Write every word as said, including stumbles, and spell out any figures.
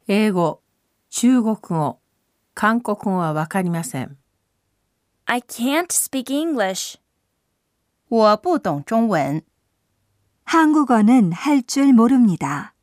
英語、中国語、韓国語はわかりません。 I can't speak English. 我不懂中文。 한국어는 할 줄 모릅니다.